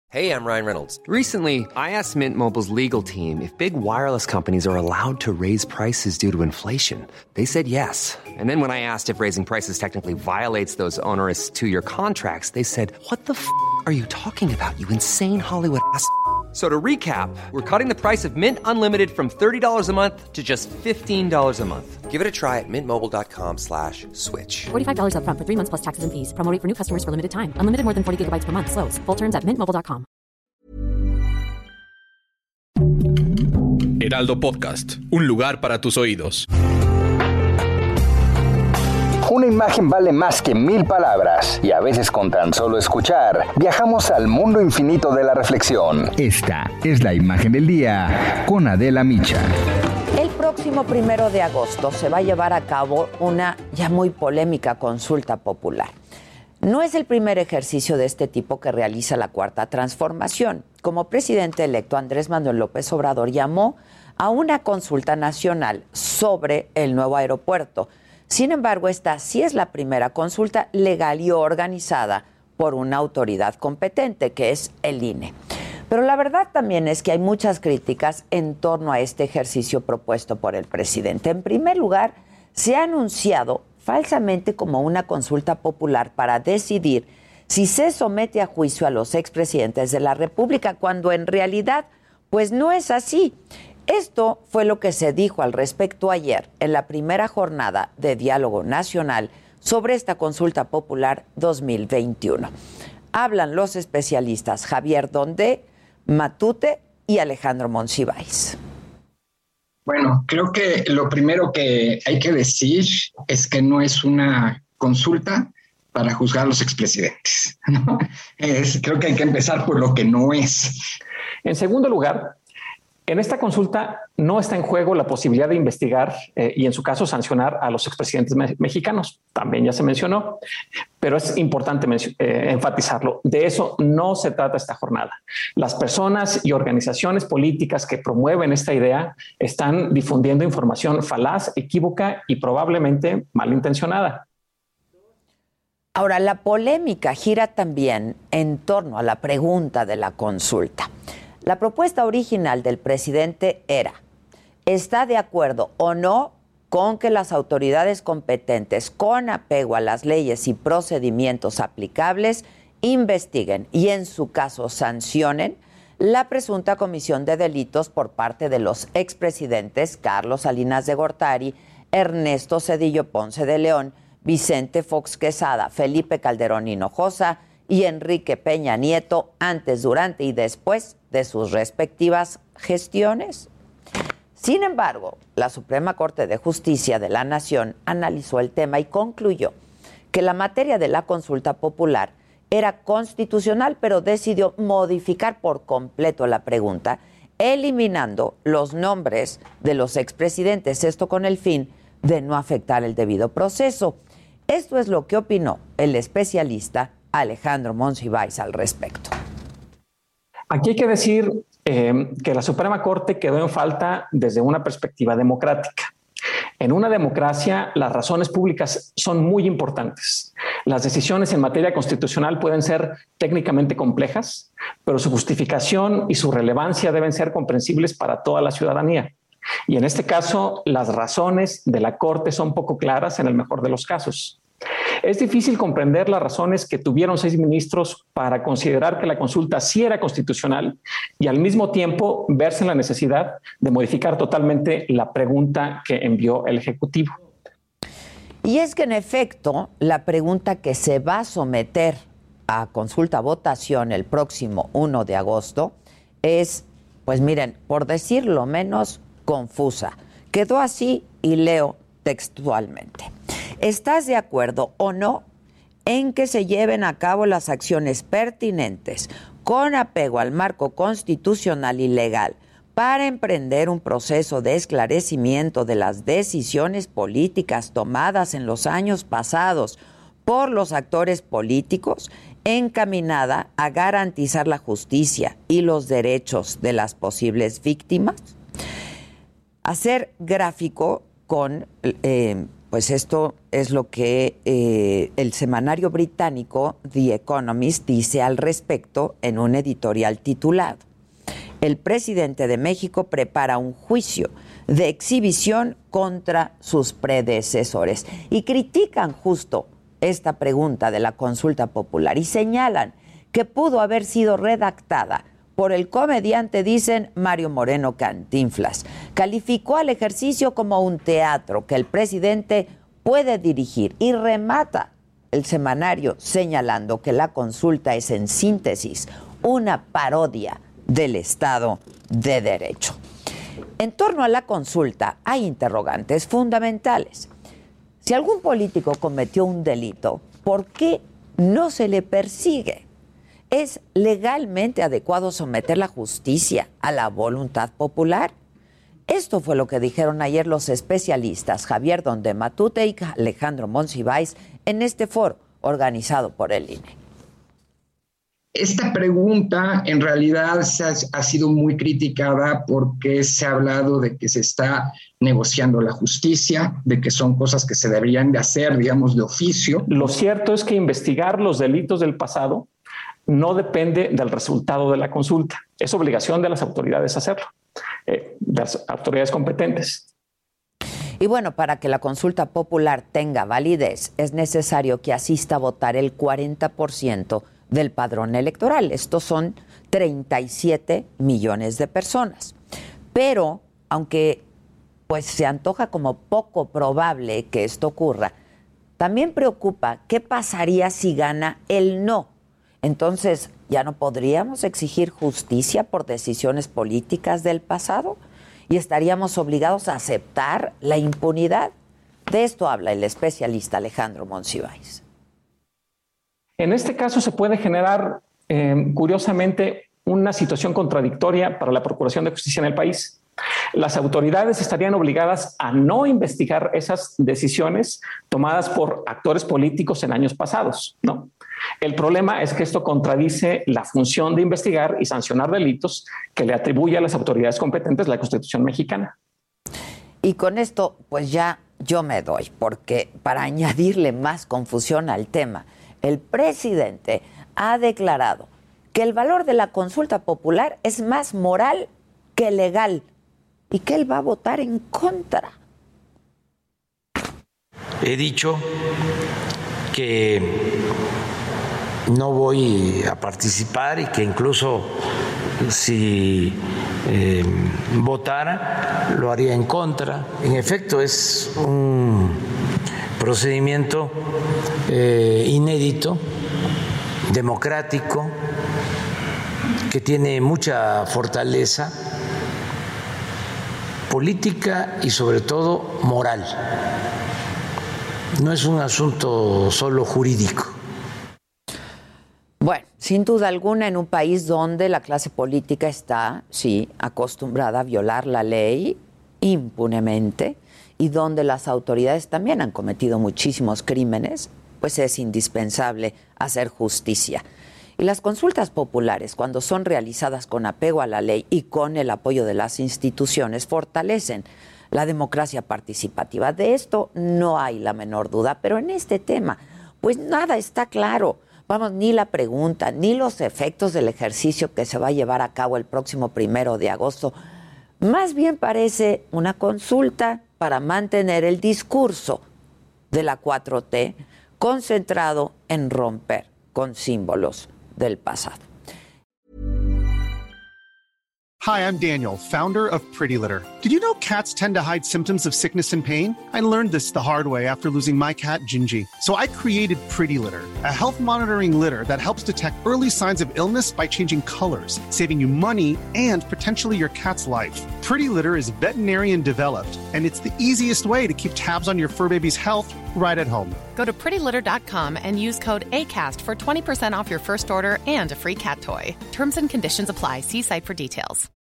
Hey, I'm Ryan Reynolds. Recently, I asked Mint Mobile's legal team if big wireless companies are allowed to raise prices due to inflation. They said yes. And then when I asked if raising prices technically violates those onerous two-year contracts, they said, "What the f*** are you talking about, you insane Hollywood ass?" So to recap, we're cutting the price of Mint Unlimited from $30 a month to just $15 a month. Give it a try at mintmobile.com/switch. $45 up front for 3 months plus taxes and fees. Promo rate for new customers for limited time. Unlimited more than 40 gigabytes per month. Slows full terms at mintmobile.com. Heraldo Podcast, un lugar para tus oídos. Una imagen vale más que 1000 palabras, y a veces con tan solo escuchar, viajamos al mundo infinito de la reflexión. Esta es la imagen del día con Adela Micha. El próximo 1 de agosto se va a llevar a cabo una ya muy polémica consulta popular. No es el primer ejercicio de este tipo que realiza la Cuarta Transformación. Como presidente electo, Andrés Manuel López Obrador llamó a una consulta nacional sobre el nuevo aeropuerto. Sin embargo, esta sí es la primera consulta legal y organizada por una autoridad competente, que es el INE. Pero la verdad también es que hay muchas críticas en torno a este ejercicio propuesto por el presidente. En primer lugar, se ha anunciado falsamente como una consulta popular para decidir si se somete a juicio a los expresidentes de la República, cuando en realidad, pues no es así. Esto fue lo que se dijo al respecto ayer en la primera jornada de diálogo nacional sobre esta consulta popular 2021. Hablan los especialistas Javier Dondé, Matute y Alejandro Monsiváis. Bueno, creo que lo primero que hay que decir es que no es una consulta para juzgar a los expresidentes, ¿no? Creo que hay que empezar por lo que no es. En segundo lugar, en esta consulta no está en juego la posibilidad de investigar y en su caso sancionar a los expresidentes mexicanos. También ya se mencionó, pero es importante enfatizarlo. De eso no se trata esta jornada. Las personas y organizaciones políticas que promueven esta idea están difundiendo información falaz, equívoca y probablemente malintencionada. Ahora, la polémica gira también en torno a la pregunta de la consulta. La propuesta original del presidente era: ¿está de acuerdo o no con que las autoridades competentes, con apego a las leyes y procedimientos aplicables, investiguen y en su caso sancionen la presunta comisión de delitos por parte de los expresidentes Carlos Salinas de Gortari, Ernesto Zedillo Ponce de León, Vicente Fox Quesada, Felipe Calderón Hinojosa y Enrique Peña Nieto antes, durante y después de sus respectivas gestiones? Sin embargo, la Suprema Corte de Justicia de la Nación analizó el tema y concluyó que la materia de la consulta popular era constitucional, pero decidió modificar por completo la pregunta, eliminando los nombres de los expresidentes, esto con el fin de no afectar el debido proceso. Esto es lo que opinó el especialista Alejandro Monsiváis al respecto. Aquí hay que decir que la Suprema Corte quedó en falta desde una perspectiva democrática. En una democracia, las razones públicas son muy importantes. Las decisiones en materia constitucional pueden ser técnicamente complejas, pero su justificación y su relevancia deben ser comprensibles para toda la ciudadanía. Y en este caso, las razones de la Corte son poco claras en el mejor de los casos. Es difícil comprender las razones que tuvieron 6 ministros para considerar que la consulta sí era constitucional y al mismo tiempo verse en la necesidad de modificar totalmente la pregunta que envió el Ejecutivo. Y es que en efecto, la pregunta que se va a someter a consulta votación el próximo 1 de agosto es, pues miren, por decirlo menos, confusa. Quedó así y leo textualmente. ¿Estás de acuerdo o no en que se lleven a cabo las acciones pertinentes con apego al marco constitucional y legal para emprender un proceso de esclarecimiento de las decisiones políticas tomadas en los años pasados por los actores políticos, encaminada a garantizar la justicia y los derechos de las posibles víctimas? Hacer gráfico con pues esto es lo que el semanario británico The Economist dice al respecto en un editorial titulado: el presidente de México prepara un juicio de exhibición contra sus predecesores. Y critican justo esta pregunta de la consulta popular y señalan que pudo haber sido redactada por el comediante, dicen, Mario Moreno Cantinflas. Calificó al ejercicio como un teatro que el presidente puede dirigir y remata el semanario señalando que la consulta es, en síntesis, una parodia del Estado de Derecho. En torno a la consulta hay interrogantes fundamentales. Si algún político cometió un delito, ¿por qué no se le persigue? ¿Es legalmente adecuado someter la justicia a la voluntad popular? Esto fue lo que dijeron ayer los especialistas Javier Donde Matute y Alejandro Monsiváis en este foro organizado por el INE. Esta pregunta en realidad ha sido muy criticada porque se ha hablado de que se está negociando la justicia, de que son cosas que se deberían de hacer, digamos, de oficio. Lo cierto es que investigar los delitos del pasado no depende del resultado de la consulta. Es obligación de las autoridades hacerlo, de las autoridades competentes. Y bueno, para que la consulta popular tenga validez, es necesario que asista a votar el 40% del padrón electoral. Estos son 37 millones de personas. Pero, aunque pues se antoja como poco probable que esto ocurra, también preocupa qué pasaría si gana el no. Entonces, ¿ya no podríamos exigir justicia por decisiones políticas del pasado? ¿Y estaríamos obligados a aceptar la impunidad? De esto habla el especialista Alejandro Monsiváis. En este caso se puede generar, curiosamente, una situación contradictoria para la Procuración de Justicia en el país. Las autoridades estarían obligadas a no investigar esas decisiones tomadas por actores políticos en años pasados, ¿no? El problema es que esto contradice la función de investigar y sancionar delitos que le atribuye a las autoridades competentes la Constitución mexicana. Y con esto, pues ya yo me doy, porque para añadirle más confusión al tema, el presidente ha declarado que el valor de la consulta popular es más moral que legal y que él va a votar en contra. He dicho que no voy a participar y que incluso si votara lo haría en contra. En efecto, es un procedimiento inédito, democrático, que tiene mucha fortaleza política y sobre todo moral. No es un asunto solo jurídico. Bueno, sin duda alguna, en un país donde la clase política está, sí, acostumbrada a violar la ley impunemente y donde las autoridades también han cometido muchísimos crímenes, pues es indispensable hacer justicia. Y las consultas populares, cuando son realizadas con apego a la ley y con el apoyo de las instituciones, fortalecen la democracia participativa. De esto no hay la menor duda, pero en este tema, pues nada está claro. Vamos, ni la pregunta, ni los efectos del ejercicio que se va a llevar a cabo el próximo 1 de agosto. Más bien parece una consulta para mantener el discurso de la 4T concentrado en romper con símbolos del pasado. Hi, I'm Daniel, founder of Pretty Litter. Did you know cats tend to hide symptoms of sickness and pain? I learned this the hard way after losing my cat, Gingy. So I created Pretty Litter, a health monitoring litter that helps detect early signs of illness by changing colors, saving you money and potentially your cat's life. Pretty Litter is veterinarian developed, and it's the easiest way to keep tabs on your fur baby's health right at home. Go to prettylitter.com and use code ACAST for 20% off your first order and a free cat toy. Terms and conditions apply. See site for details.